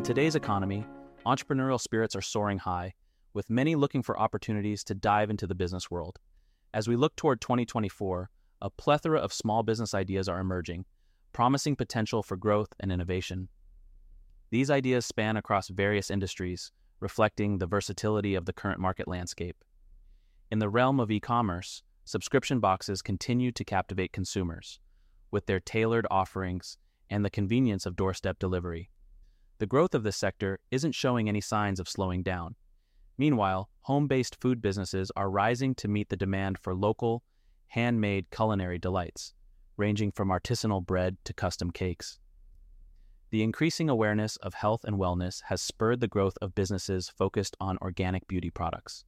today's economy, entrepreneurial spirits are soaring high, with many looking for opportunities to dive into the business world. As we look toward 2024, a plethora of small business ideas are emerging, promising potential for growth and innovation. These ideas span across various industries, reflecting the versatility of the current market landscape. In the realm of e-commerce, subscription boxes continue to captivate consumers, with their tailored offerings and the convenience of doorstep delivery. The growth of this sector isn't showing any signs of slowing down. Meanwhile, home-based food businesses are rising to meet the demand for local, handmade culinary delights, ranging from artisanal bread to custom cakes. The increasing awareness of health and wellness has spurred the growth of businesses focused on organic beauty products.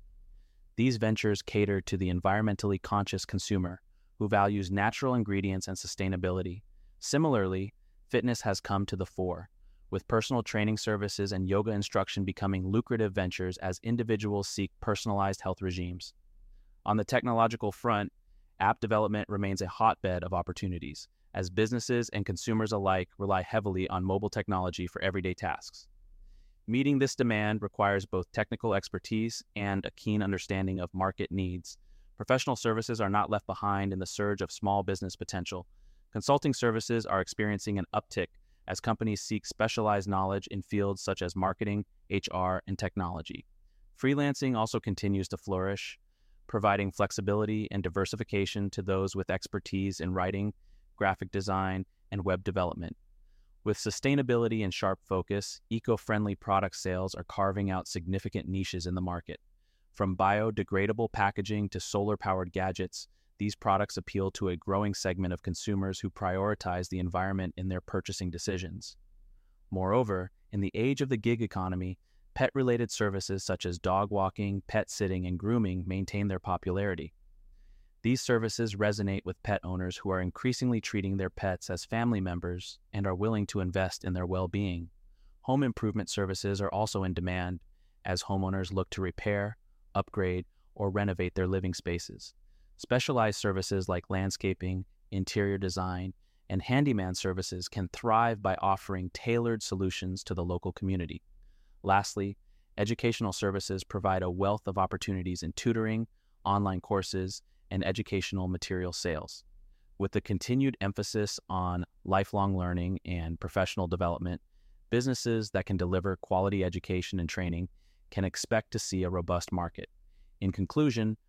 These ventures cater to the environmentally conscious consumer who values natural ingredients and sustainability. Similarly, fitness has come to the fore, with personal training services and yoga instruction becoming lucrative ventures as individuals seek personalized health regimes. On the technological front, app development remains a hotbed of opportunities, as businesses and consumers alike rely heavily on mobile technology for everyday tasks. Meeting this demand requires both technical expertise and a keen understanding of market needs. Professional services are not left behind in the surge of small business potential. Consulting services are experiencing an uptick as companies seek specialized knowledge in fields such as marketing, HR, and technology. Freelancing also continues to flourish, providing flexibility and diversification to those with expertise in writing, graphic design, and web development. With sustainability and sharp focus, eco-friendly product sales are carving out significant niches in the market. From biodegradable packaging to solar-powered gadgets, these products appeal to a growing segment of consumers who prioritize the environment in their purchasing decisions. Moreover, in the age of the gig economy, pet-related services such as dog walking, pet sitting, and grooming maintain their popularity. These services resonate with pet owners who are increasingly treating their pets as family members and are willing to invest in their well-being. Home improvement services are also in demand as homeowners look to repair, upgrade, or renovate their living spaces. Specialized services like landscaping, interior design, and handyman services can thrive by offering tailored solutions to the local community. Lastly, educational services provide a wealth of opportunities in tutoring, online courses, and educational material sales. With the continued emphasis on lifelong learning and professional development, businesses that can deliver quality education and training can expect to see a robust market. In conclusion,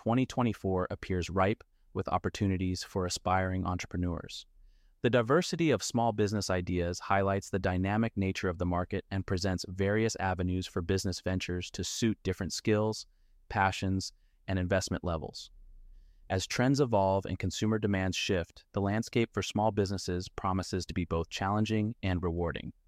2024 appears ripe with opportunities for aspiring entrepreneurs. The diversity of small business ideas highlights the dynamic nature of the market and presents various avenues for business ventures to suit different skills, passions, and investment levels. As trends evolve and consumer demands shift, the landscape for small businesses promises to be both challenging and rewarding.